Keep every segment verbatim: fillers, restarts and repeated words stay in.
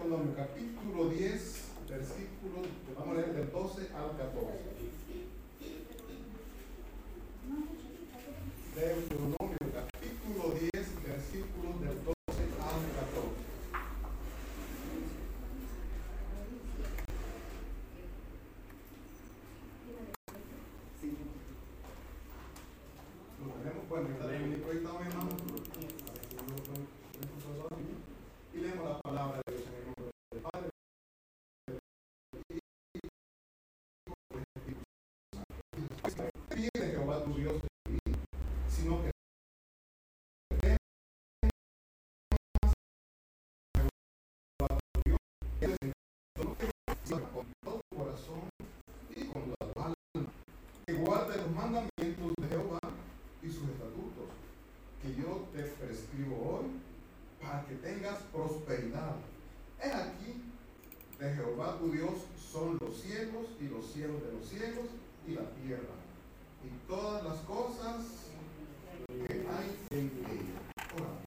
Deuteronomio capítulo diez, versículos, vamos a leer del doce al catorce. Deuteronomio capítulo diez, versículos del doce al catorce. Lo tenemos, bueno, está bien proyectado, mi hermano. Y leemos la palabra de Dios en el nombre del Padre. Pide Jehová tu Dios de ti, sino que con todo tu corazón y con tu alma, que guarde los mandamientos de Jehová y sus estatutos, que yo te prescribo hoy, para que tengas prosperidad. He aquí, de Jehová tu Dios son los cielos y los cielos de los cielos y la tierra, y todas las cosas que hay en ella. Oramos.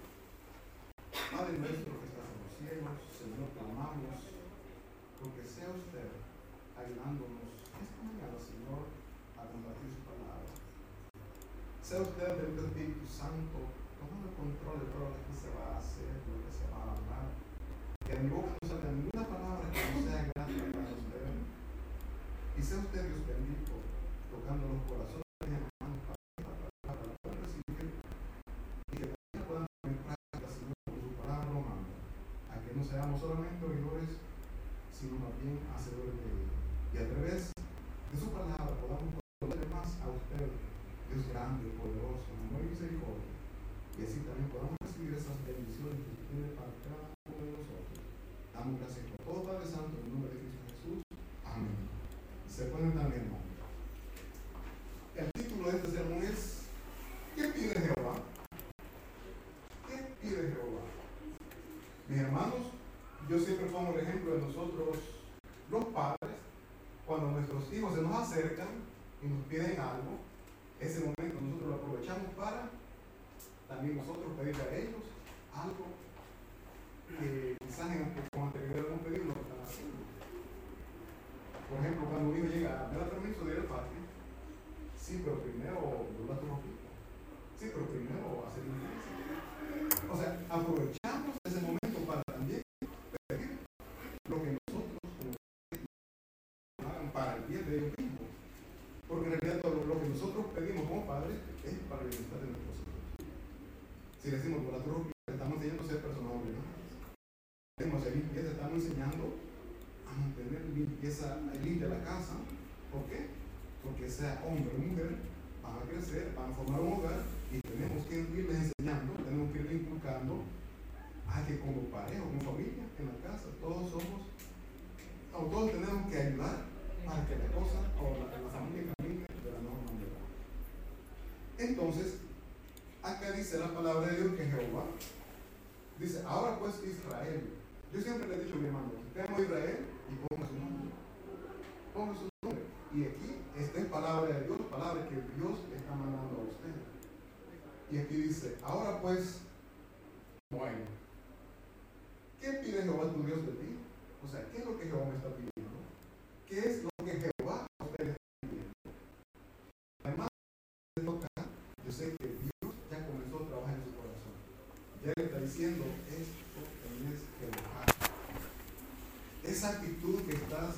Padre nuestro que estás en los cielos, Señor, clamamos, porque sea usted ayudándonos esta mañana, Señor, a compartir su palabra. Sea usted del Espíritu Santo tomando el control de todo lo que se va a hacer, lo que se va a hablar. Que de mi boca no salga ninguna palabra que no sea grata para usted. Y sea usted, Dios bendito, tocando los corazones de mis hermanos para que la palabra la puedan recibir y que también puedan poner en práctica, Señor, por su palabra lo manda. A que no seamos solamente oidores, sino más bien hacedores de ella. Y a través de su palabra podamos conocer más a usted, Dios grande, poderoso, amor y misericordia. Y así también podamos recibir esas bendiciones que usted tiene para cada uno de nosotros. Damos gracias por todo, Padre Santo, en el nombre de Cristo Jesús. Amén. Se pueden también, hermano. El título de este sermón es ¿qué pide Jehová? ¿Qué pide Jehová? Mis hermanos, yo siempre pongo el ejemplo de nosotros, los padres, cuando nuestros hijos se nos acercan y nos piden algo, ese momento nosotros lo aprovechamos para también nosotros pedirle a ellos algo que quizás en, con anterioridad hemos pedido lo que están haciendo. Por ejemplo, cuando un hijo llega, ¿me da permiso de ir al parque? Sí, pero primero dobla tu ropita. Sí, pero primero hacer limpieza. O sea, aprovechamos ese momento para también pedir lo que nosotros como hagan para el bien de ellos mismos. Porque en realidad todo lo que nosotros pedimos como padres es para el bienestar de nuestros hijos. Si decimos por la ropita, estamos enseñando a ser personas obligadas. Decimos hacer limpieza, estamos enseñando a mantener limpieza, limpia la casa. ¿Por qué? Porque sea hombre o mujer, van a crecer, van a formar un hogar y tenemos que irles enseñando, tenemos que irles inculcando a que como pareja, como familia, en la casa, todos somos, o todos tenemos que ayudar para que la cosa o la, la familia camine de la mejor manera. Entonces, acá dice la palabra de Dios que Jehová dice, ahora pues Israel. Yo siempre le he dicho a mi hermano, veamos a Israel y ponga su nombre. Ponga su nombre. Y aquí, esta es palabra de Dios, palabra que Dios le está mandando a usted. Y aquí dice, ahora pues, bueno, ¿qué pide Jehová tu Dios de ti? O sea, ¿qué es lo que Jehová me está pidiendo? ¿Qué es lo que Jehová a usted le está pidiendo? Además de tocar, yo sé que Dios ya comenzó a trabajar en su corazón. Ya le está diciendo, esto tienes que dejar. Esa actitud que estás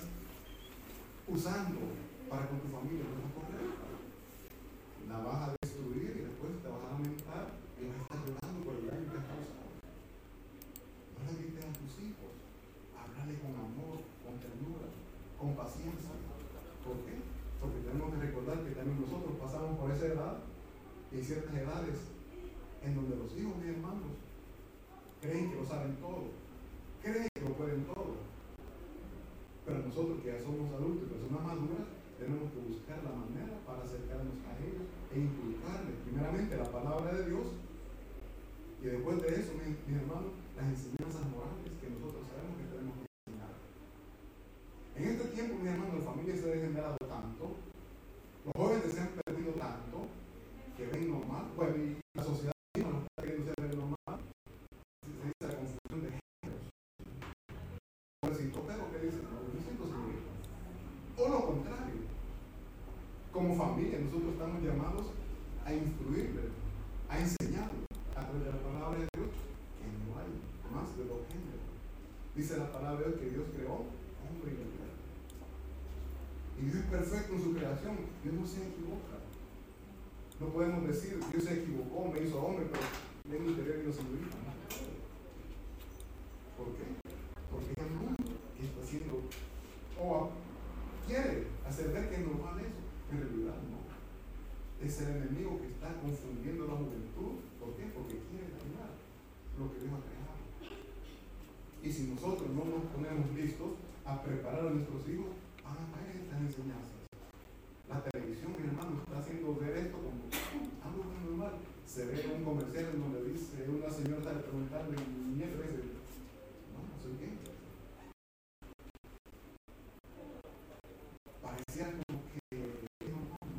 usando para con tu familia no es correcta. La vas a destruir y después te vas a lamentar y vas a estar llorando por el daño que has causado. No le grites a tus hijos. Háblale con amor, con ternura, con paciencia. ¿Por qué? Porque tenemos que recordar que también nosotros pasamos por esa edad y hay ciertas edades en donde los hijos, mis hermanos, creen que lo saben todo, creen que lo pueden todo. Pero nosotros que ya somos adultos y personas maduras, tenemos que buscar la manera para acercarnos a ellos e inculcarles primeramente la palabra de Dios y después de eso, mis, mis hermanos, las enseñanzas morales que nosotros sabemos que tenemos que enseñar. En este tiempo, mis hermanos, la familia se ha degenerado tanto, los jóvenes se han perdido tanto, que ven normal, bueno, y la sociedad misma no está queriendo ser normal, se dice la confusión de géneros. familia nosotros estamos llamados a instruirle, a enseñarle a través de la palabra de Dios que no hay más de dos géneros. Dice la palabra de Dios que Dios creó hombre y mujer. Y Dios es perfecto en su creación. Dios no se equivoca. No podemos decir Dios se equivocó, me hizo hombre, pero en el interior y no señorita. No. ¿Por qué? Porque es el mundo que está haciendo o quiere hacer ver que es normal eso. En realidad no. Es el enemigo que está confundiendo la juventud. ¿Por qué? Porque quiere dañar lo que Dios ha creado. Y si nosotros no nos ponemos listos a preparar a nuestros hijos, van a caer estas enseñanzas. La televisión, mi hermano, está haciendo ver esto como algo tan normal. Se ve un comercial en donde dice una señora está preguntando y mi nieto dice, no, no soy gay. Parecía como que no, no, no.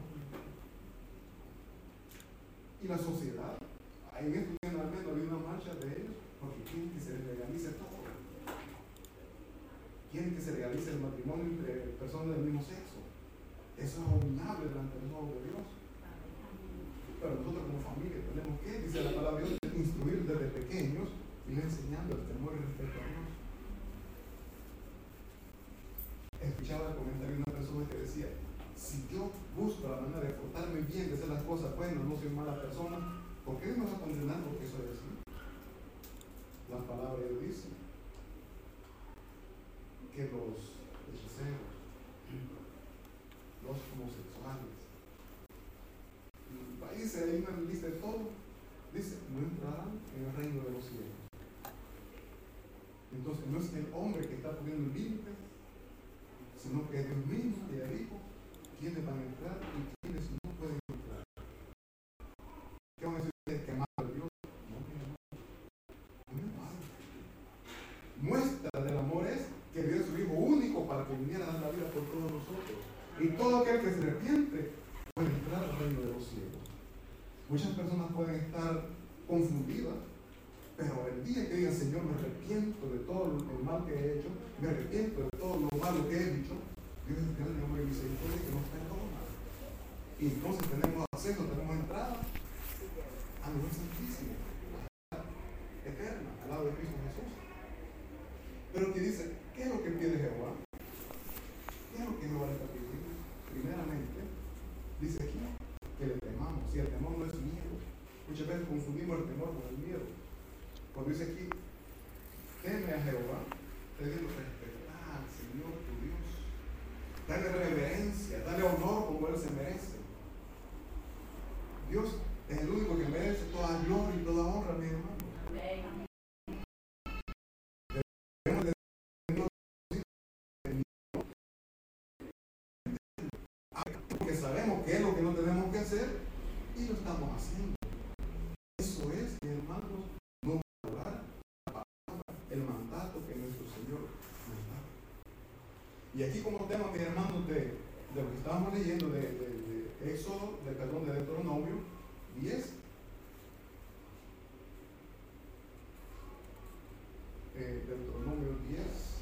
Y la sociedad, en esto al menos había una marcha de ellos porque quieren que se legalice todo. Quieren que se legalice el matrimonio entre personas del mismo sexo. Eso es abominable delante de los ojos de Dios. Pero nosotros como familia tenemos que, dice la palabra de Dios, instruir desde pequeños y ir enseñando el temor y el respeto a Dios. Escuchaba el comentario de una persona que decía, si yo busco la manera de portarme bien, de hacer las cosas buenas, no soy mala persona, ¿por qué me vas a condenar porque soy así? La palabra de Dios dice que los hechiceros, los homosexuales, ahí dice, hay una lista de todo, dice, no entrarán en el reino de los cielos. Entonces no es el hombre que está poniendo límites, sino que es Dios mismo que ya dijo quiénes van a entrar y quiénes no pueden entrar. ¿Qué van a decir ustedes que aman a Dios? No, no, no es malo. Muestra del amor es que dio a su Hijo único para que viniera a dar la vida por todos nosotros. Y todo aquel que se arrepiente puede entrar al reino de los cielos. Muchas personas pueden estar confundidas, pero el día que digan, Señor, me arrepiento de todo el mal que he hecho, me arrepiento de todo lo malo que he dicho, Dios es grande amor y misericordia que nos perdona. Y entonces tenemos acceso, tenemos entrada al lugar santísimo, a la eterna, al lado de Cristo Jesús. Pero que dice, ¿qué es lo que pide Jehová? ¿Qué es lo que Jehová le está pidiendo? Primeramente, dice aquí, que le temamos. Y el temor no es miedo. Muchas veces confundimos el temor con el miedo. Cuando dice aquí, teme a Jehová, te digo respetar al Señor tu Dios. Dale reverencia, dale honor como Él se merece. Dios es el único que merece toda gloria y toda honra, mi hermano. Amén. Debemos de porque sabemos qué es lo que no tenemos que hacer y lo estamos haciendo. Eso es, mi hermano, no valorar la palabra, el mandato que nuestro Señor nos da. Y aquí como tema, mis hermanos, de, de lo que estábamos leyendo de, de, de Éxodo, de, perdón, de Deuteronomio diez, eh, Deuteronomio diez,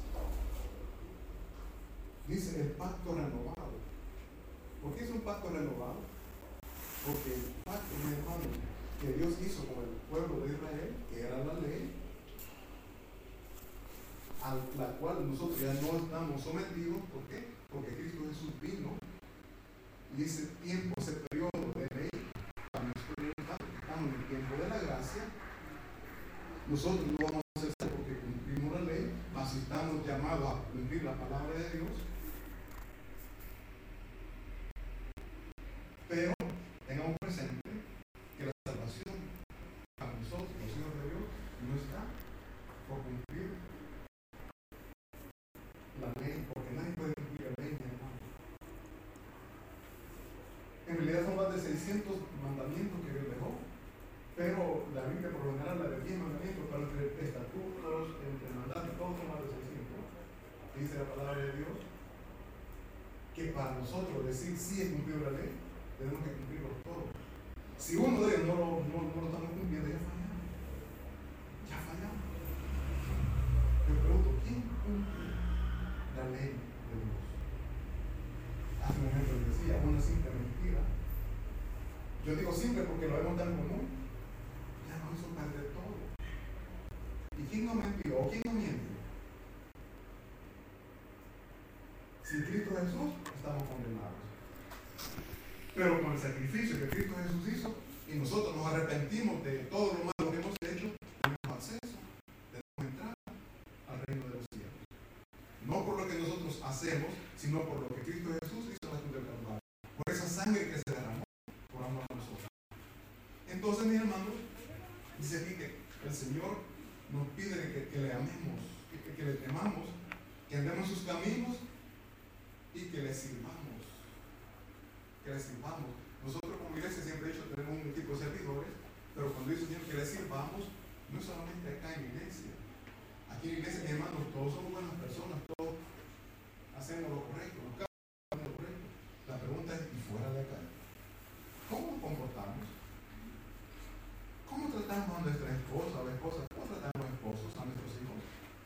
dice el pacto renovado. ¿Por qué es un pacto renovado? Porque el pacto, mi hermano, que Dios hizo con el pueblo de Israel, que era la ley, a la cual nosotros ya no estamos sometidos. ¿Por qué? Porque Cristo Jesús vino y ese tiempo, ese periodo de ley, para nosotros estamos en el tiempo de la gracia. Nosotros no vamos a hacer porque cumplimos la ley, mas si estamos llamados a cumplir la palabra de Dios. Pero tengamos presente que la salvación para nosotros, los hijos de Dios, no está por cumplir la ley, porque nadie puede cumplir la ley, mi hermano. En realidad son más de seiscientos mandamientos que Dios dejó, pero la Biblia por lo general la de diez mandamientos, para entre estatutos, entre mandatos, todos son más de seiscientos. Dice la palabra de Dios que para nosotros decir sí he cumplido la ley, tenemos que cumplirlos todos. Si uno de ellos no lo, no, no lo estamos cumpliendo, ya fallamos. Ya fallamos. Me pregunto, ¿quién cumple la ley de Dios? Hace un momento les decía, una simple mentira Yo digo simple porque lo vemos tan común. Ya no hizo perder todo. ¿Y quién no mentió? ¿O quién no miente? Sin Cristo Jesús estamos condenados. Pero con el sacrificio que Cristo Jesús hizo y nosotros nos arrepentimos de todo lo malo que hemos hecho, tenemos acceso, tenemos entrada al reino de los cielos. No por lo que nosotros hacemos, sino por lo que Cristo Jesús hizo en la cruz del Calvario. Por esa sangre que se derramó por amor a nosotros. Entonces, mis hermanos, dice aquí que el Señor nos pide que, que le amemos, que, que le temamos, que andemos en sus caminos y que le sirvamos. Que le sirvamos. Nosotros como iglesia siempre he dicho tenemos un equipo de servidores, pero cuando dice Señor que le sirvamos, no es solamente acá en la iglesia. Aquí en la iglesia, mis hermanos, todos somos buenas personas, todos hacemos lo correcto, buscamos lo correcto. La pregunta es, ¿y fuera de acá? ¿Cómo nos comportamos? ¿Cómo tratamos a nuestra esposa o esposa? ¿Cómo tratamos a los esposos, a nuestros hijos?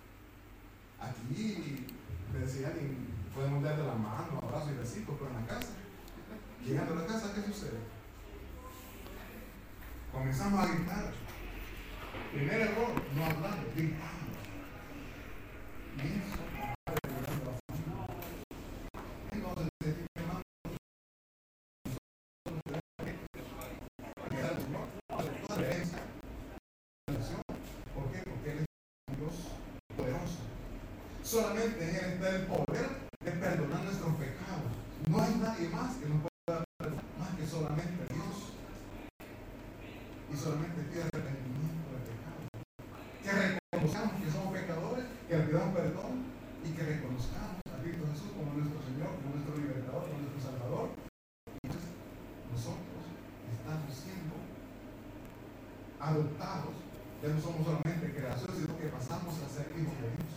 Aquí, me decía alguien, podemos darle la mano, abrazos y besitos, pero en la casa, llegando a la casa, ¿qué sucede? Comenzamos a gritar. Primer error, no hablar, gritamos. Y eso, entonces, hermano, ¿por qué? Porque Él es un Dios poderoso. Solamente en Él está el poder de perdonar nuestros pecados. No hay nadie más que nos pueda perdonar más que solamente Dios. Y solamente pide arrepentimiento de pecados. Que reconozcamos que somos pecadores, que le pidamos perdón y que reconozcamos a Cristo Jesús como nuestro Señor, como nuestro libertador, como nuestro Salvador. Y entonces nosotros estamos siendo adoptados. Ya no somos solamente creaciones, sino que pasamos a ser hijos de Dios.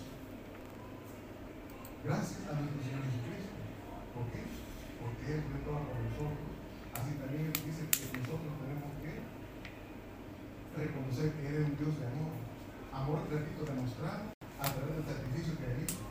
Gracias a nuestro Señor Jesucristo. ¿Por qué? Porque Él fue todo por nosotros. Así también Él dice que nosotros tenemos que reconocer que Él es un Dios de amor. Amor, repito, demostrado a través del sacrificio que Él hizo.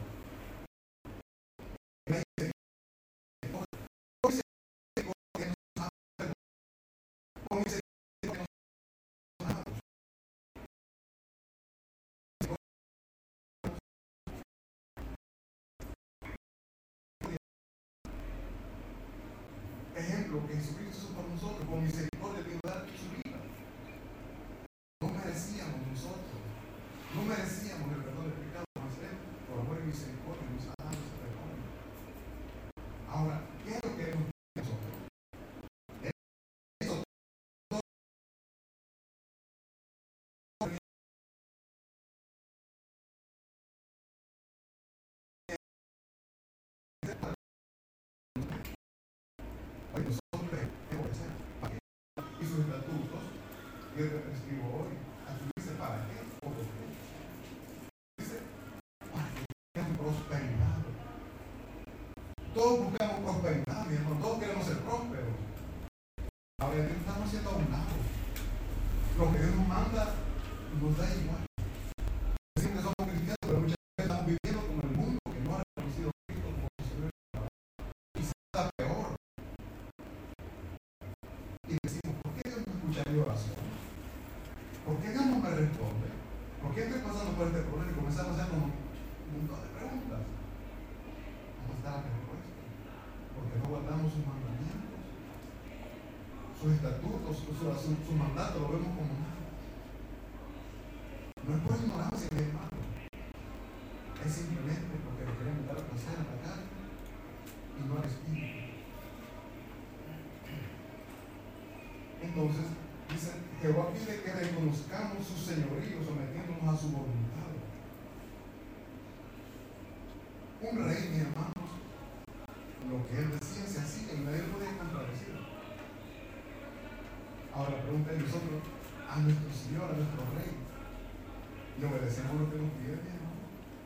Ejemplo que Jesucristo hizo por nosotros, con misericordia de dar su vida. No merecíamos nosotros, no merecíamos el perdón del pecado, mas Él, por amor y misericordia, nos ha dado ese perdón. Ahora, ¿qué es lo que hemos hecho nosotros? Eso todo hoy nosotros debemos hacer para que y sus estatutos que Él prescribo hoy. Aquí dice para qué o por qué. Dice para que tengan prosperidad. Todos buscamos prosperidad, mi hermano, todos queremos ser prósperos. Ahora Dios estamos haciendo a un lado. Lo que Dios nos manda nos da igual. Decimos que somos cristianos, pero muchas veces estamos viviendo como el mundo que no ha reconocido a Cristo como su Señor. Y se está peor. Y decimos, ¿por qué Dios no escucha mi oración? ¿Por qué Dios no me responde? ¿Por qué estoy pasando por este problema? Y comenzamos a hacer un montón de preguntas. ¿Dónde está la respuesta? Porque no guardamos sus mandamientos, sus estatutos, sus su, su, su mandato, lo vemos como nada. No es por ignorancia, mi hermano. Es simplemente porque le queremos dar placer a la carne y no al espíritu. Entonces, dice, Jehová pide que reconozcamos su señorío, sometiéndonos a su voluntad. Un rey, mis hermanos, lo que él decía se hacía y nadie podía contradecir. Ahora la pregunta es, nosotros a nuestro Señor, a nuestro Rey, y obedecemos lo que nos pide, mi hermano.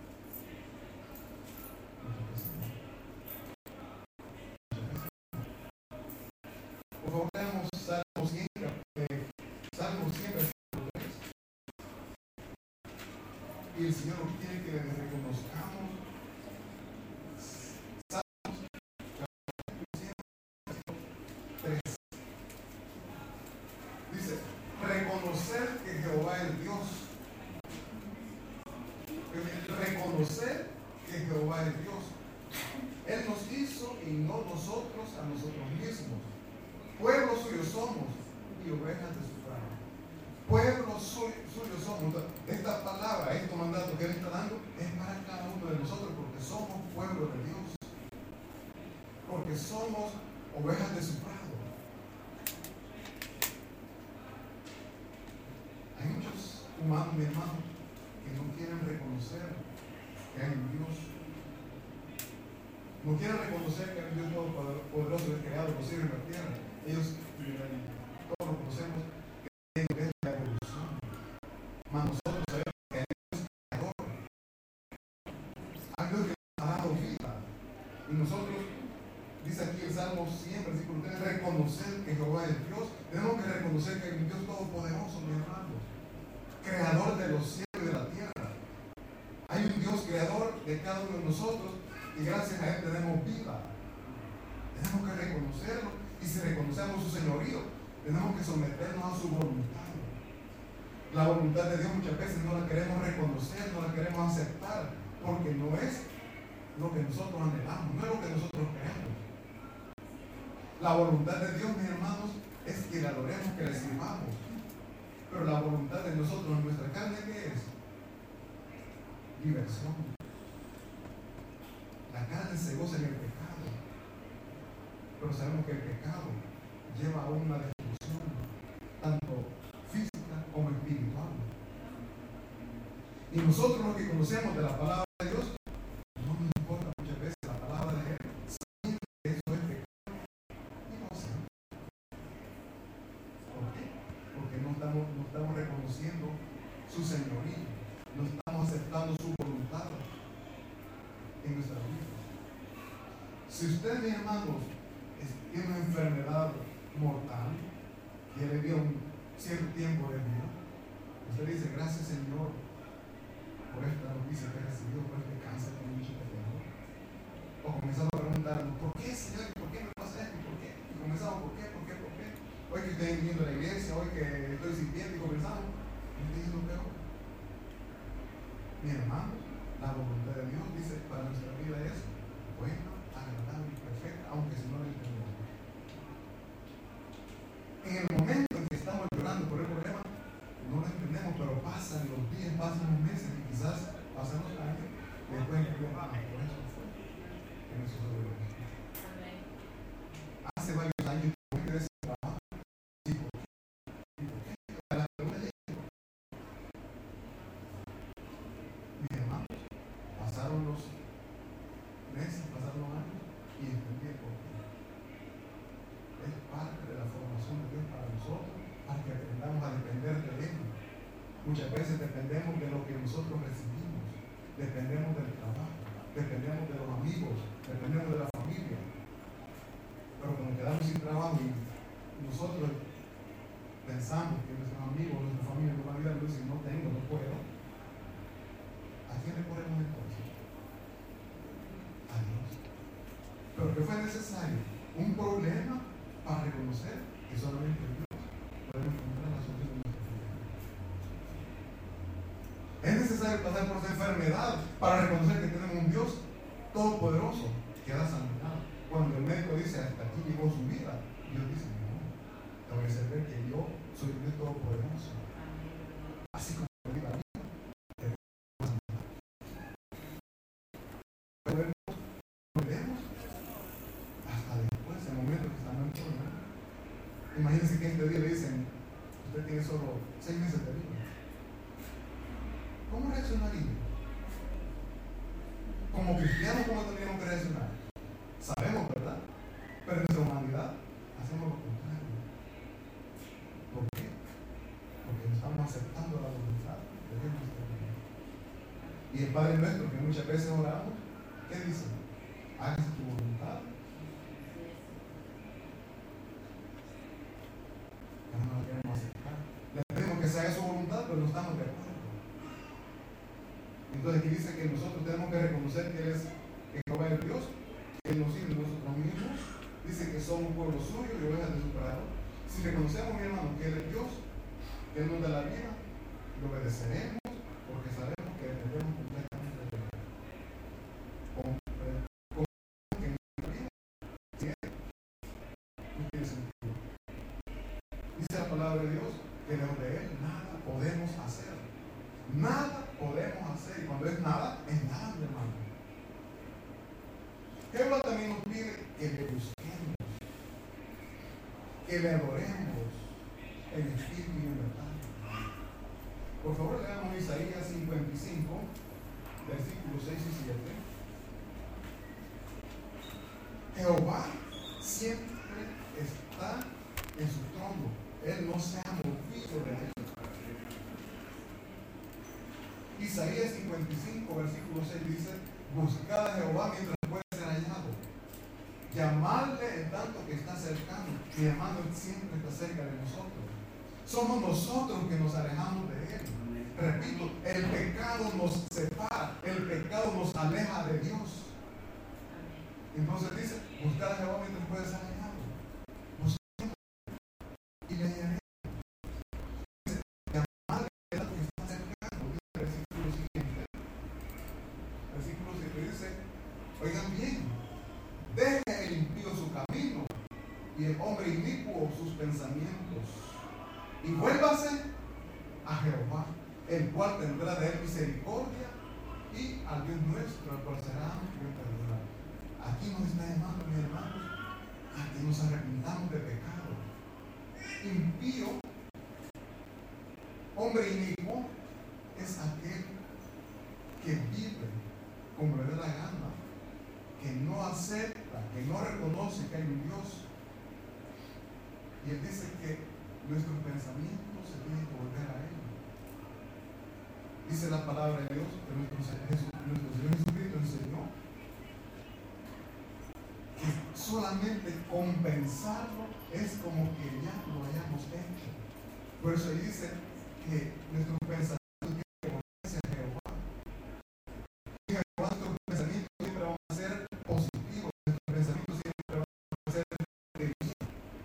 Por favor, leamos Salmo cien, eh, Salmo cien, versículo tres. Y el Señor nos quiere que reconozcamos. Salmos cien, versículo tres. reconocer que Jehová es Dios. Él nos hizo y no nosotros a nosotros mismos. Pueblo suyo somos y ovejas de su prado. Pueblo suyo, suyo somos. Esta palabra, este mandato que Él está dando es para cada uno de nosotros, porque somos pueblo de Dios. Porque somos ovejas de su prado. Hay muchos humanos, mi hermano, que no quieren reconocer que hay un Dios. No quieren reconocer que hay un Dios todopoderoso que ha creado los cielos y la tierra. Ellos, todos lo conocemos, que es la evolución. Mas nosotros sabemos que hay un Dios creador. Hay un Dios que nos ha dado vida. Y nosotros, dice aquí el Salmo cien, versículo tres, reconocer que Jehová es Dios. Tenemos que reconocer que hay un Dios todopoderoso, mis hermanos, creador de los cielos y de la tierra. Hay un Dios creador de cada uno de nosotros y gracias a Él tenemos vida. Tenemos que reconocerlo, y si reconocemos su señorío, tenemos que someternos a su voluntad. La voluntad de Dios muchas veces no la queremos reconocer, no la queremos aceptar, porque no es lo que nosotros anhelamos, no es lo que nosotros queremos. La voluntad de Dios, mis hermanos, es que le adoremos, que le sirvamos. Pero la voluntad de nosotros en nuestra carne, ¿qué es? Diversión. La carne se goza en el pecado, pero sabemos que el pecado lleva a una destrucción, tanto física como espiritual. Y nosotros los que conocemos de la palabra de Dios, no nos importa muchas veces la palabra de Él, sabiendo que eso es pecado, y lo hacemos. ¿Por qué? Porque no estamos, no estamos reconociendo su señorío, no estamos aceptando su voluntad en nuestra vida. Si usted, mis hermanos, tiene una enfermedad mortal y le dio un cierto tiempo de vida, usted dice: gracias, Señor, por esta noticia que he recibido, por este cáncer que me dicho que tengo. O comenzamos a preguntarnos: ¿por qué, Señor? ¿Por qué me pasa esto? ¿Por qué? Y comenzamos: ¿por qué? ¿Por qué? ¿Por qué? Hoy que estoy viniendo a la iglesia, hoy que estoy sirviendo, y comenzamos. ¿Me estoy diciendo peor? Mi hermano, la voluntad de Dios dice para nuestra vida es buena, agradable y perfecta, aunque si no la entendemos. En el momento en que estamos llorando por el problema, no lo entendemos, pero pasan los días, pasan los meses y quizás pasan los años, después entendemos: ah, por eso fue que me sucedió esto. Hace varios años yo me quedé sin trabajo. ¿Y por qué? ¿Y por qué? La pregunta es: mis hermanos, pasaron los meses, pasaron los años y entendí el porqué. Es parte de la formación de Dios para nosotros, para que aprendamos a depender de Él. Muchas veces dependemos de lo que nosotros recibimos, dependemos del trabajo, dependemos de los amigos, dependemos de la familia. Pero cuando quedamos sin trabajo y nosotros pensamos que nuestros amigos, nuestra familia nos van a ayudar, y dicen: no tengo, no puedo, ¿a quién le ponemos entonces? A Dios. Pero que fue necesario un problema para reconocer que solamente Dios puede encontrar la solución de nuestro problema. Es necesario pasar por esa enfermedad para reconocer que tenemos un Dios todopoderoso que da sanidad. Cuando el médico dice: hasta aquí llegó su vida, Dios dice: no, te voy a hacer ver que yo soy un Dios todopoderoso. Así como te di la vida, te doy la sanidad. Pero no vemos hasta después, en el momento que estamos enfermos. Imagínense que este día le dicen: usted tiene solo seis meses de vida. ¿Cómo reaccionaría? Como cristianos, ¿cómo tendríamos que reaccionar? Sabemos, ¿verdad? Pero en nuestra humanidad hacemos lo contrario. ¿Por qué? Porque no estamos aceptando la voluntad de Dios en nuestra vida. Y el Padre nuestro, que muchas veces oramos, ¿qué dice? Hágase tu voluntad. Pero no la queremos aceptar. Le pedimos que se haga su voluntad, pero no estamos de acuerdo. Entonces aquí dice que nosotros tenemos que reconocer que Él es que Jehová es Dios, que Él nos sirve nosotros mismos. Dice que somos pueblo suyo y ovejas de su prado. Si reconocemos, mi hermano, que Él es Dios, que Él nos da la vida, lo obedeceremos porque sabemos que dependemos completamente de Él. palabra de Dios que lejos de Él nada podemos hacer. Nada podemos hacer. Y cuando es nada, es nada, mi hermano. Jehová también nos pide que le busquemos, que le adoremos en espíritu y en verdad. Por favor, leamos Isaías cincuenta y cinco, versículos seis y siete. Jehová siempre está en su trono. Él no se ha movido de él. Isaías cincuenta y cinco, versículo seis dice: buscad a Jehová mientras puede ser hallado. Llamadle en tanto que está cercano. Mi hermano siempre está cerca de nosotros. Somos nosotros que nos alejamos de Él. Repito, el pecado nos separa, el pecado nos aleja de Dios. Entonces dice: buscad a Jehová mientras puede ser hallado. Busquemos y le hallaremos. Dice: llamadle en tanto que está cercano. Dice el versículo siguiente. Versículo siete dice: oigan bien, deje el impío su camino y el hombre inicuo sus pensamientos, y vuélvase a Jehová, el cual tendrá de él misericordia, y al Dios nuestro, el cual será amplio en perdonar. Aquí nos está llamando, mis hermanos, a que nos arrepintamos de pecado. Impío, hombre inicuo, es aquel que vive como le da la gana, que no acepta, que no reconoce que hay un Dios. Y él dice que nuestros pensamientos se tienen que volver a Él. Dice la palabra de Dios que nuestro, Jesús, nuestro Señor Jesucristo enseñó que solamente compensarlo es como que ya lo hayamos hecho. Por eso ahí dice que nuestros pensamientos tienen que volverse a Jehová. Y Jehová, nuestros pensamientos siempre van a ser positivos, nuestros pensamientos siempre van a ser de bien.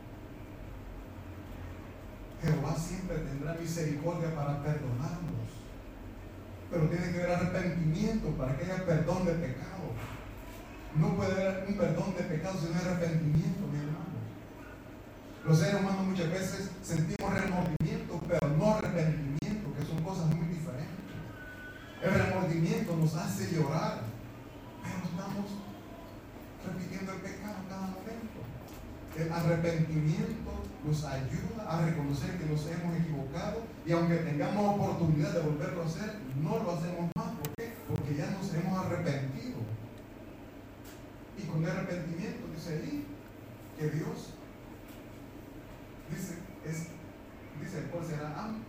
Jehová siempre tendrá misericordia para perdonarnos, pero tiene que haber arrepentimiento para que haya perdón de pecado. No puede haber un perdón de pecado sin arrepentimiento, mi hermano. Los seres humanos muchas veces sentimos remordimiento, pero no arrepentimiento, que son cosas muy diferentes. El remordimiento nos hace llorar, pero estamos repitiendo el pecado cada momento. El arrepentimiento nos ayuda a reconocer que nos hemos equivocado, y aunque tengamos oportunidad de volverlo a hacer, no lo hacemos más. ¿Por qué? Porque ya nos hemos arrepentido. Y con el arrepentimiento dice ahí que Dios dice, es, dice el cual será amplio.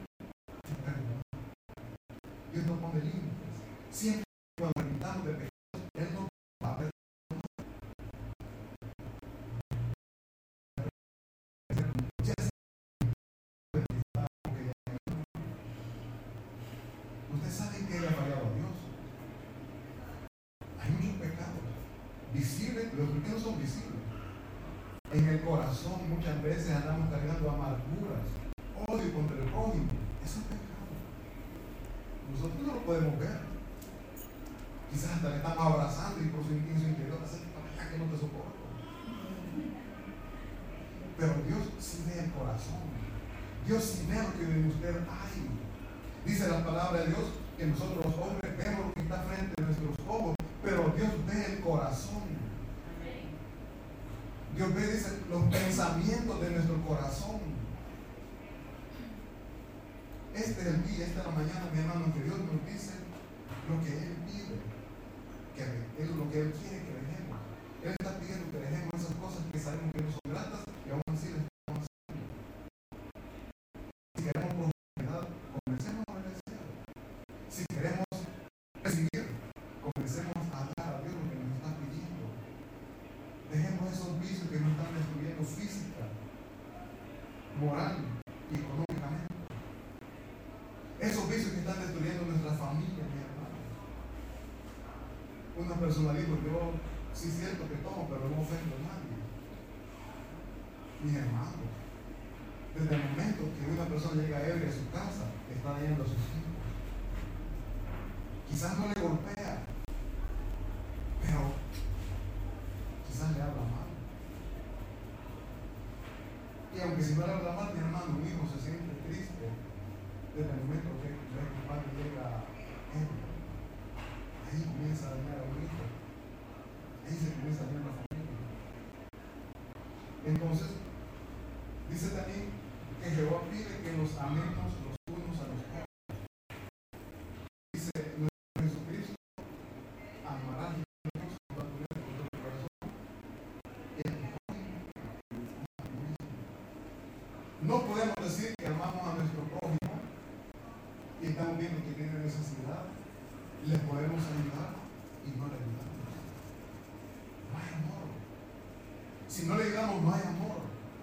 Dios no pone límites. Siempre cuando arrepentamos de pecados, Él no va a perdonar. Ustedes saben que Él ha fallado a Dios. Hay muchos pecados visibles, los que no son visibles. En el corazón muchas veces andamos cargando amarguras, odio contra el prójimo. Eso es pecado. Nosotros no lo podemos ver. Quizás hasta le estamos abrazando y por su, en su interior hace para allá que no te soporto. Pero Dios sí ve el corazón. Dios sí ve lo que en usted hay. Dice la palabra de Dios que nosotros los hombres vemos lo que está frente a nuestros ojos, pero Dios ve el corazón. Dios ve, dice, los pensamientos de nuestro corazón. Este es el día, esta es la mañana, mi hermano, que Dios nos dice lo que Él pide, que es lo que Él quiere que dejemos. Él está pidiendo que dejemos esas cosas que sabemos que no son gratas y aún así las estamos haciendo. Si queremos prosperidad, comencemos a obedecer. Si queremos recibir, comencemos a dar a Dios lo que nos está pidiendo. Dejemos esos vicios que nos están destruyendo física, moral y económicamente. Esos vicios que están destruyendo nuestra familia, mi hermano. Una persona dijo: yo sí siento que tomo, pero no ofendo a nadie. Mis hermanos, desde el momento que una persona llega ebria a su casa, está dañando a sus hijos. Quizás no le golpea, pero quizás le habla mal. Y aunque si no le habla mal, mi hermano, mi hijo se siente triste desde el momento que el padre llega a él. Ahí comienza a dañar a un hijo. Ahí se comienza a dañar la familia. Entonces, dice también que Jehová pide que nos amemos los unos a los otros. Dice nuestro Jesucristo, amarás a Dios con tu corazón y a tu prójimo. No podemos decir que amamos a nuestro prójimo y estamos viendo que tiene necesidad, le podemos ayudar y no le ayudamos. No hay amor. Si no le ayudamos, no hay amor.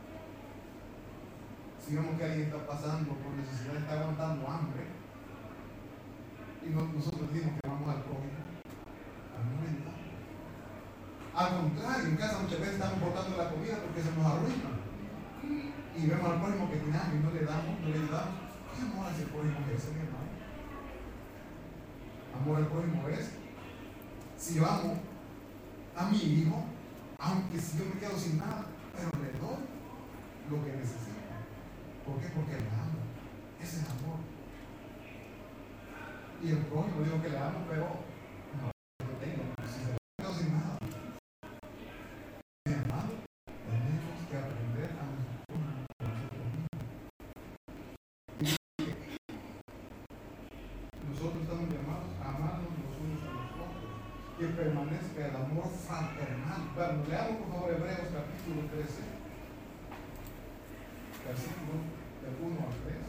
Si vemos que alguien está pasando por necesidad, está aguantando hambre, y no, nosotros decimos que vamos al prójimo, a no le ayudamos. Al contrario, en casa muchas veces estamos botando la comida porque se nos arruina. Y vemos al prójimo que tiene hambre y no le damos, no le ayudamos. ¿Qué amor hace el prójimo ese, mi hermano? Amor al prójimo es, si yo amo a mi hijo, aunque si yo me quedo sin nada, pero le doy lo que necesita. ¿Por qué? Porque le amo. Ese es amor. Y el prójimo digo que le amo, pero no lo tengo. Si se me quedo sin nada, mi hermano, tenemos que aprender a nosotros mismos. Nosotros estamos llamados a amarnos los unos a los otros, que permanezca el amor fraternal. Bueno, leamos por favor Hebreos capítulo trece, versículo del uno al tres.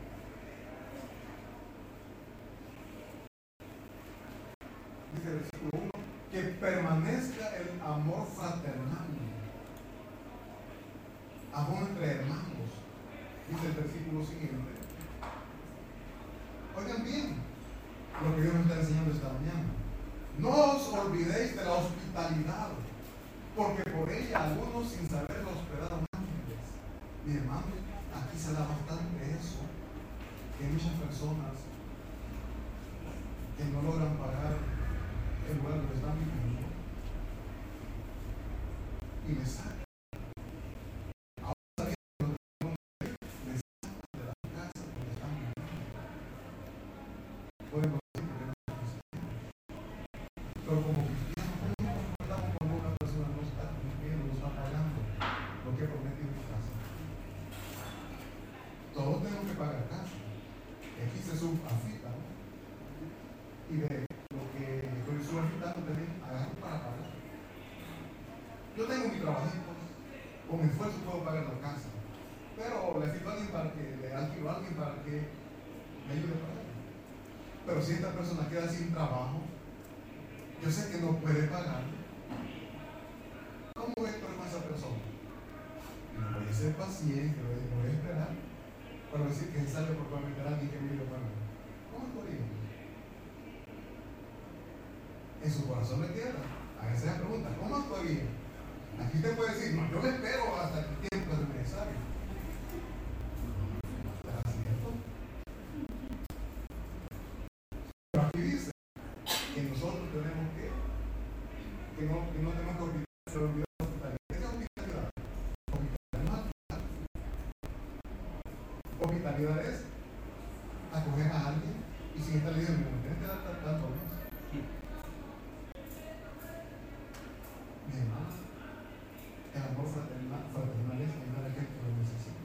Dice el versículo uno, que permanezca el amor fraternal, amor entre hermanos. Dice el versículo siguiente. Oigan bien lo que Dios nos está enseñando esta mañana. No os olvidéis de la hospitalidad, porque por ella algunos sin saberlo hospedaron ángeles. Mi hermano, aquí se da bastante eso, que hay muchas personas que no logran pagar el lugar donde están viviendo y les sacan. Podemos decir que no es cristiano. Pero como cristianos, no nos comportamos cuando una persona no está cumpliendo, no está pagando lo que prometió en su casa. Todos tenemos que pagar casa. Aquí se subafita, ¿no? Y de lo que estoy subafitando también agarro para pagar. Yo tengo mi trabajito, con mi esfuerzo puedo pagar la casa, pero le afito a alguien para que le alquilo a alguien para que me ayude a pagar. Pero si esta persona queda sin trabajo, yo sé que no puede pagar. ¿Cómo voy a esperar con esa persona? Voy a ser paciente, voy a esperar para decir que sale por prometer a alguien que me ayude a pagar. ¿Cómo estoy? En su corazón le queda. Hágase la pregunta, ¿cómo estoy bien? Aquí usted puede decir, no, yo le espero hasta el tiempo necesario. Que nosotros tenemos que, que no, que no tenemos que olvidar, se olvidó la hospitalidad. ¿Qué es hospitalidad? Hospitalidad, hospitalidad es acoger a alguien y sin estar diciendo, me tienes que dar tanto mes. Mi hermano, el amor fraternal, fraternal es ayudar a aquel que lo necesita.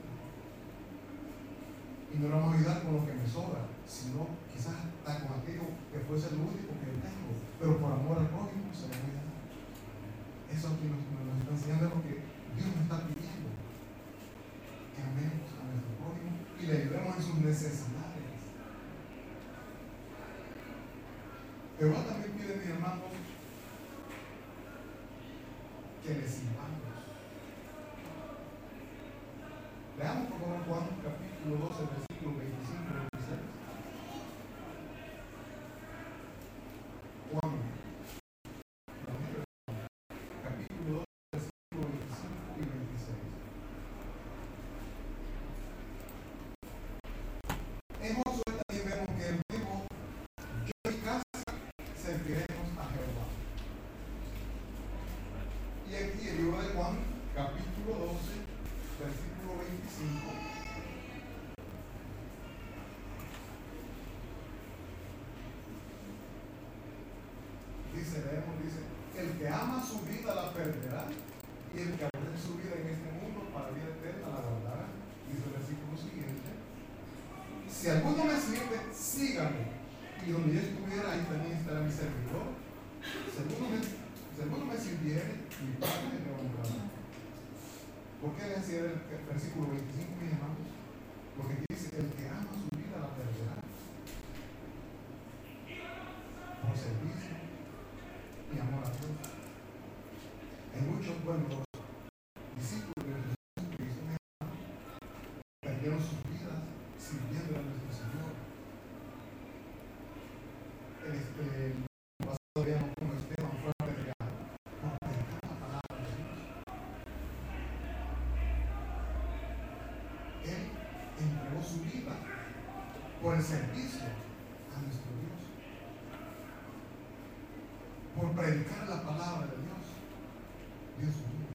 Y no lo vamos a ayudar con lo que me sobra, sino quizás hasta con aquello que fuese lo único que yo tengo, pero por amor al prójimo se lo voy a dar. Eso aquí nos, nos está enseñando lo que Dios nos está pidiendo, que amemos a nuestro prójimo y le ayudemos en sus necesidades. Jehová también pide, mis hermanos, que le sirvamos. Leamos por favor Juan capítulo doce, versículo veinticinco y veintiséis. Juan capítulo doce, versículo veinticinco y veintiséis. En Josué también vemos que él dijo, yo y casa serviremos a Jehová. Y aquí el libro de Juan capítulo doce, versículo veinticinco. dice, leemos, dice, el que ama su vida la perderá, y el que aborrece su vida en este mundo para vida eterna la guardará. Dice el versículo siguiente: si alguno me sirve, sígame, y donde yo estuviera, ahí también estará mi servidor. Si alguno me, si alguno me sirviere, mi Padre me honrará. ¿Por qué le decía el, el versículo veinticinco, mis hermanos? Porque dice, el que ama su vida la perderá por servicio y amor a Dios. Hay muchos, bueno, los discípulos de Jesucristo perdieron sus vidas sirviendo a nuestro Señor. Este, el pasado veíamos como Esteban fue apedreado por predicar la palabra de Dios. Él entregó su vida por el servicio a nuestro Dios, por predicar la palabra de Dios. Dios mío,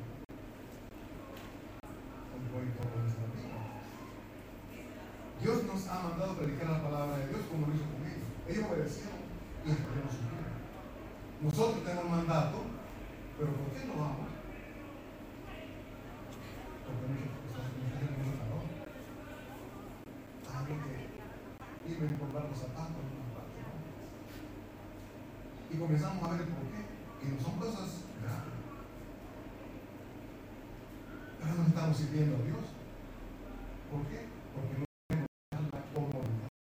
hoy por nuestra vida. Dios nos ha mandado a predicar la palabra de Dios como lo hizo con ellos. Ellos obedecieron y entregamos su vida. Nosotros tenemos mandato, pero ¿por qué no vamos? Porque muchas personas nos tienen mucho calor. Algo que irme a comprar los zapatos en una parte, ¿no? Y comenzamos a ver el por qué. Y no son cosas graves. Pero no estamos sirviendo a Dios. ¿Por qué? Porque no tenemos la comodidad.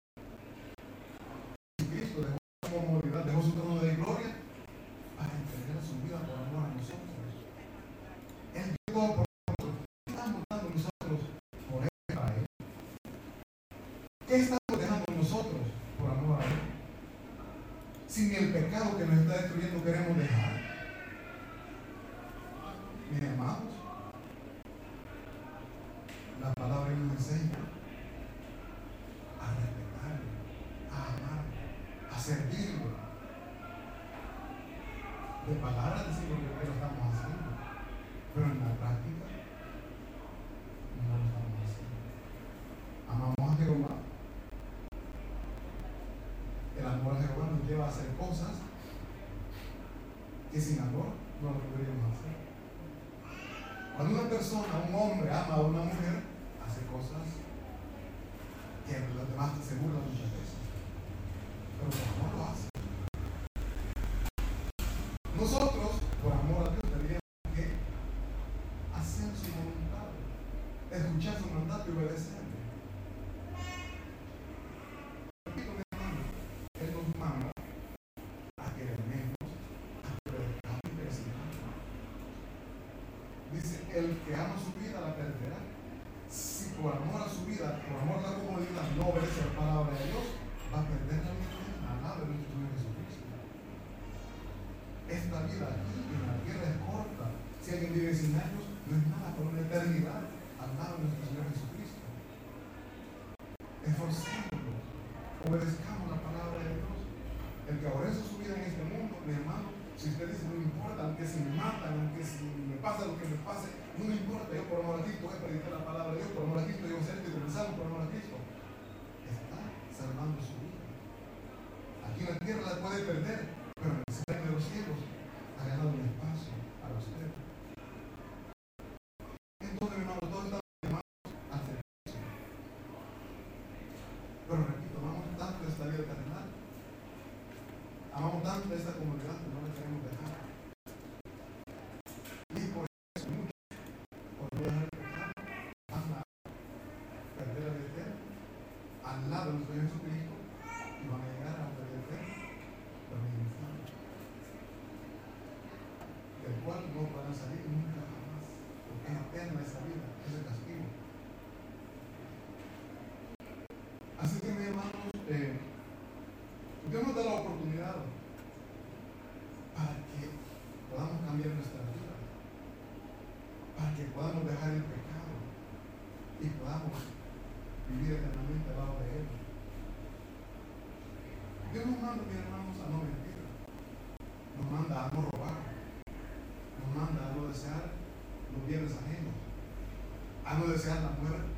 Cristo dejó su comodidad, dejó su trono de gloria para entregar su vida por amor a nosotros. Él dio todo por nosotros. ¿Qué estamos dando nosotros por Él, para Él? ¿Qué estamos dejando nosotros por amor a Él? Sin el pecado que nos está destruyendo queremos dejar. Mis amados, la palabra nos enseña a respetarlo, a amar, a servirlo. De palabras decimos que lo estamos haciendo, pero en la práctica no lo estamos haciendo. Amamos a Jehová. El amor a Jehová nos lleva a hacer cosas que sin amor no lo podríamos hacer. Cuando una persona, un hombre, ama a una mujer, hace cosas que los demás se burlan muchas veces, pero por amor lo hace. Nosotros, por amor a Dios, deberíamos que hacer su voluntad, escuchar su mandato y obedecerle. Repito, mi hermano, Él nos manda a que le amemos, a que obedezcamos y que sigamos. Dice, el que ama su vida la perderá. Si por amor a su vida, por amor a la comodidad, no obedece la palabra de Dios, va a perder la vida al lado de nuestro Señor Jesucristo. Esta vida aquí en la tierra es corta. Si alguien vive cien años, no es nada por una eternidad al lado de nuestro Señor Jesucristo. Esforcémonos, obedezcamos la palabra de Dios. El que aborrece su vida en este mundo, mi hermano, si usted dice, no me importa, aunque si me matan, aunque si me pasa lo que me pase, no me importa, yo por amor a Cristo voy a predicar la palabra de Dios, por amor a Cristo yo voy a ser y comenzamos por amor a Cristo. Está salvando su vida. Aquí en la tierra la puede perder, pero en el reino de los cielos ha ganado un espacio para usted. Entonces, mi hermano, todos estamos llamados al servicio. Pero repito, amamos tanto esta vida terrenal, amamos tanto esta comunidad que no la queremos dejar. Y por eso muchos, por no dejar el pecado, van a perder la vida eterna al lado de nuestro Jesucristo y van a llegar a la vida eterna, también en el infierno, del cual no van a salir nunca jamás, porque es eterna esa vida, ese castigo. Así que, mis hermanos, eh, Dios nos da la oportunidad para que podamos cambiar nuestra vida, para que podamos dejar el pecado y podamos vivir eternamente al lado de Él. Dios nos manda, mis hermanos, a no mentir, nos manda a no robar, nos manda a no desear los bienes ajenos, a no desear la muerte.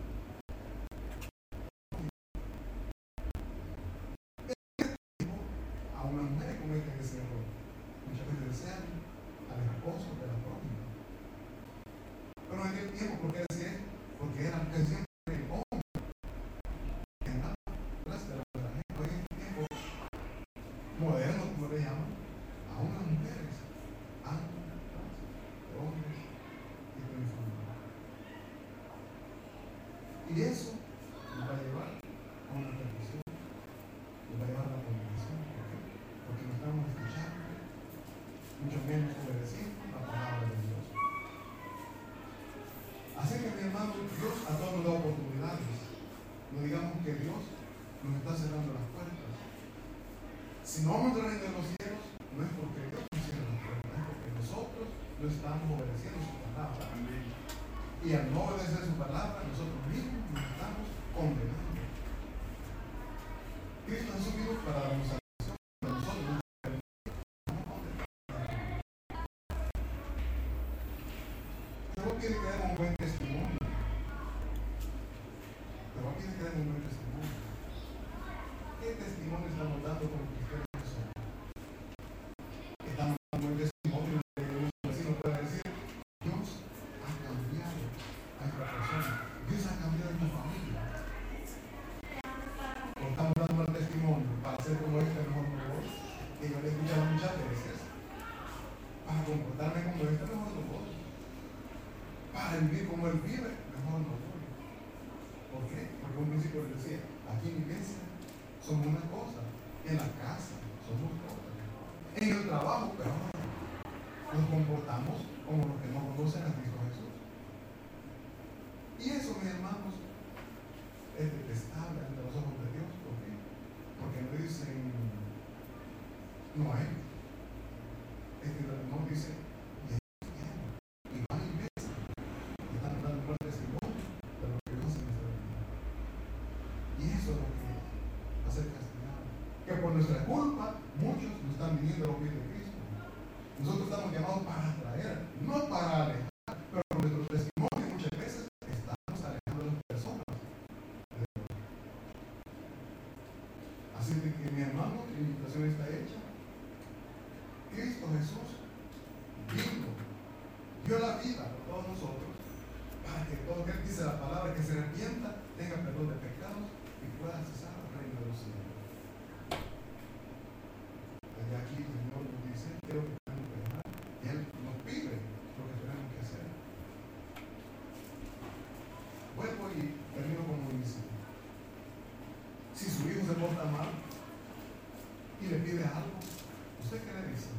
A una mujer cometen ese error. muchas veces desean al esposo de la prójima. Pero en aquel tiempo, ¿por qué decía esto? Porque eran siempre el hombre en la clase de la gente. Hoy en este tiempo moderno, como le llaman, aún las mujeres han de hombres y de uniforme. Y eso nos va a llevar a una perdición, nos va a llevar a la condenación. ¿Por qué? Porque no estamos escuchando, mucho menos obedeciendo la palabra de Dios. Así que, mi hermano, Dios a todos nos da oportunidades. No digamos que Dios nos está cerrando las puertas. Si no vamos a reino de los cielos, no es porque Dios nos cierre las puertas, es porque nosotros no estamos obedeciendo su palabra. Amén. Y al no obedecer su palabra, nosotros mismos nos estamos condenando. Cristo Jesús vino para darnos salvación, pero nosotros no estamos condenados. Dios quiere que demos un buen testimonio. Dios quiere que demos un buen testimonio. ¿Qué testimonio estamos dando como cristianos que somos? Estamos dando un buen testimonio de un vecino puede decir: Dios ha cambiado a esta persona, Dios ha cambiado a tu familia. O estamos dando un testimonio para ser como este mejor no voy, que yo le he escuchado muchas veces, para comportarme como este mejor no voy, para vivir como él vive, mejor no voy. ¿Por qué? Porque un principio le decía: aquí en la iglesia somos una cosa, en la casa somos otra, en el trabajo peor, nos comportamos como los que no conocen a Cristo Jesús. Y eso, mis hermanos, es detestable ante los ojos de Dios. ¿Por qué? Porque no dicen no hay, es que no dice y van a la iglesia y están dando un testimonio de lo que Dios hace en nuestra vida. Y eso es lo que hacer castigado, que por nuestra culpa muchos no están viniendo a los pies de Cristo. Nosotros estamos llamados para atraer, no para alejar, pero con nuestro testimonio muchas veces estamos alejando a las personas de Dios. Así de que, mi hermano, la invitación está hecha. Cristo Jesús vino, dio la vida por todos nosotros, para que todo aquel que dice la palabra, que se arrepienta, tenga perdón de pecados y pueda accesar al reino de los cielos. Allá aquí el Señor nos dice qué es lo que tenemos que dejar, y Él nos pide lo que tenemos que hacer. Vuelvo y termino como dice: si su hijo se porta mal y le pide algo, ¿usted qué le dice?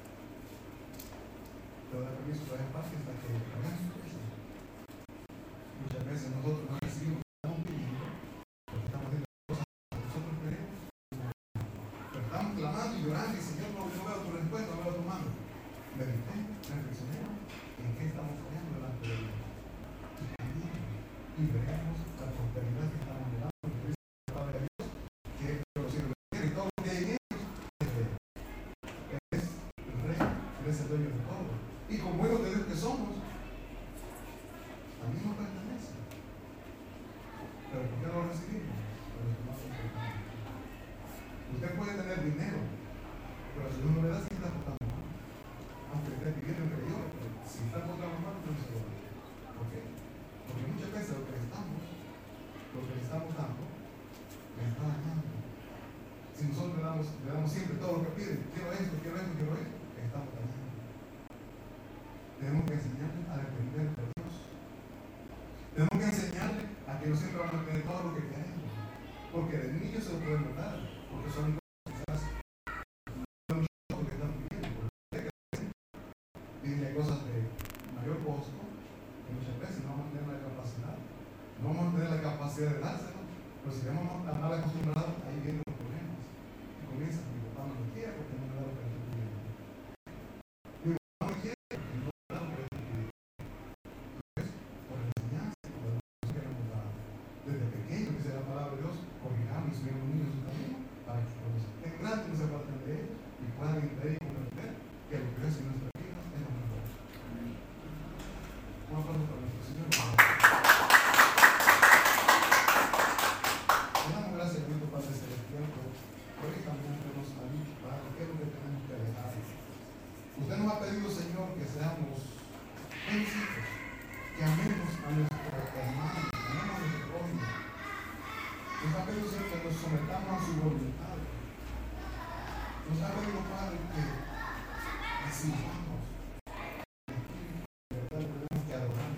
Le da permiso para el parque hasta que hagamos eso. Muchas veces nosotros no recibimos lo que estamos pidiendo, porque estamos haciendo cosas que nosotros queremos, pero estamos clamando y llorando y Señor, no, no veo tu respuesta, no veo tu mano. Meditemos, reflexionemos en qué estamos fallando delante de Dios y cambiemos y veremos la prosperidad que estamos mirando. Es el dueño de todo. Y como hijos de Dios que somos, también nos pertenece. Pero ¿por qué no lo recibimos? Pero es más importante. Usted puede tener dinero, pero si no le da, sí está portando mal. Aunque esté pidiendo que yo, si está portando mal, no se lo da. ¿Por qué? Porque muchas veces lo que le estamos, lo que le estamos dando, le está dañando. Si nosotros le damos, le damos siempre todo lo que pide, quiero esto, quiero esto, quiero esto, estamos dañando. Tenemos que enseñarle a depender de Dios. Tenemos que enseñarle a que no siempre van a tener todo lo que queremos. Porque de niños se lo pueden notar. Porque son cosas quizás no que están pidiendo. Porque piden cosas de mayor costo que muchas veces no vamos a tener la capacidad. No vamos a tener la capacidad de dárselo. Pero si estamos tan mal acostumbrados, ahí vienen los problemas. Y comienza, mi papá no lo quiere porque no me da lo que estoy pidiendo. Mi papá no me quiere. Desde pequeño, dice la palabra de Dios, corrijamos y subimos niños en su camino para que cuando estén grandes no se aparten de ellos y puedan entender y comprender que lo que es en nuestra vida es lo mejor. Un aplauso para nuestro Señor. Le damos gracias a Dios Padre Celestial. Bendecidos. Que amemos a nuestros hermanos, amemos a nuestro prójimo. Nos ha pedido Señor que nos sometamos a su voluntad. Nos ha pedido Padre que recibamos. Tenemos que adorar.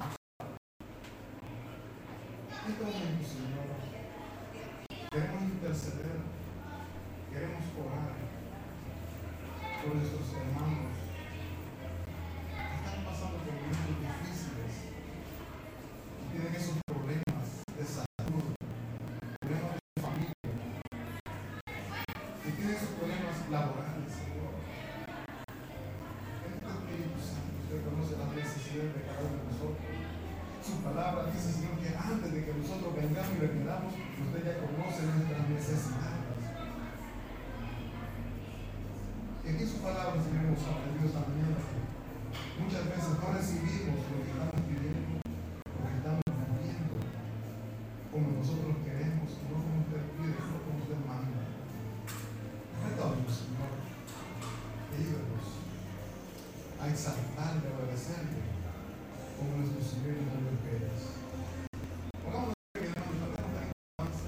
En este momento, Señor, queremos interceder, queremos orar por nuestros hermanos que están pasando por momentos difíciles y tienen esos problemas de salud, problemas de familia, y tienen esos problemas laborales, Señor. Este Espíritu Santo, usted conoce las necesidades de cada uno de nosotros. Su palabra dice, Señor, que antes de que nosotros vengamos y le pidamos, usted ya conoce nuestras necesidades. Y aquí su palabra, Señor, hemos aprendido esta mañana que muchas veces no recibimos lo que estamos pidiendo, lo que estamos pidiendo, como nosotros queremos, no como usted pide, no como usted manda. Retornos, Señor, ayúdanos a exaltarle, a obedecerle, como nuestro Señor y nombre Pérez. Pongamos de pie, hermanos, no tenemos la alabanza.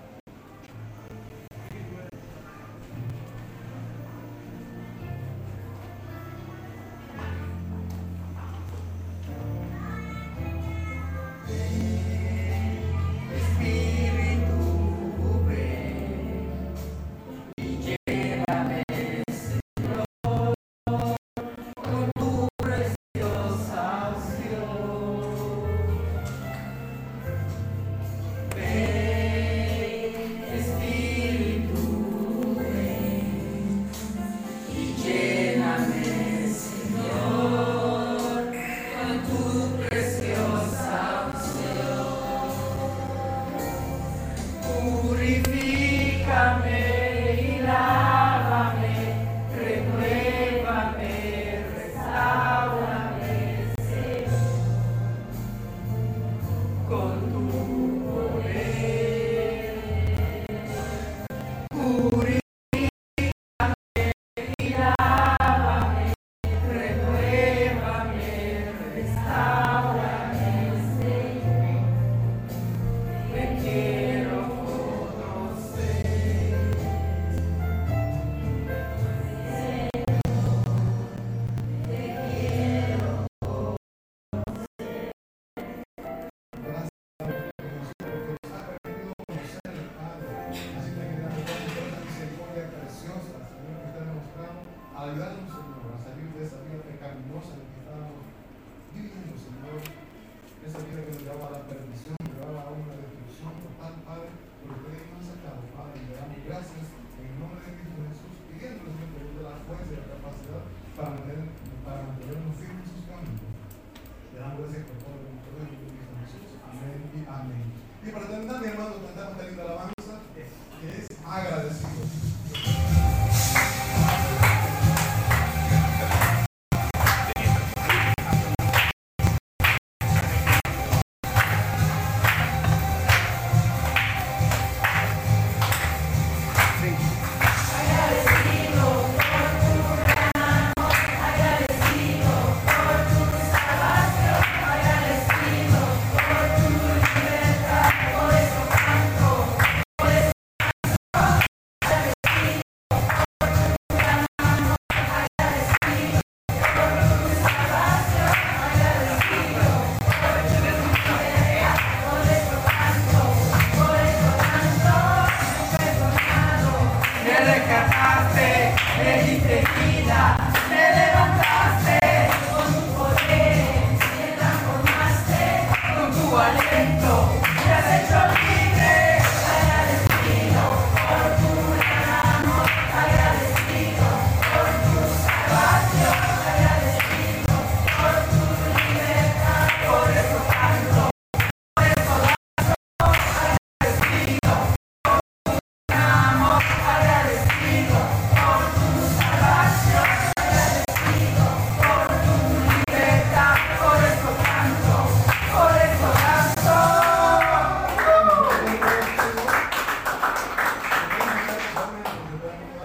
Ayudarnos, Señor, a salir de esa vida pecaminosa en la que estábamos viviendo, Señor. Esa vida que nos llevaba a la perdición, nos llevaba a una destrucción total, Padre. Pero ustedes nos han sacado, Padre, y le damos gracias en el nombre de Cristo Jesús, pidiendo, Señor, que nos dé la fuerza y la capacidad para, mantener, para mantenernos firmes en sus caminos. Le damos gracias por todo el poder de Cristo Jesús. Amén y amén. Y para terminar, mi hermano, cantamos esta linda alabanza.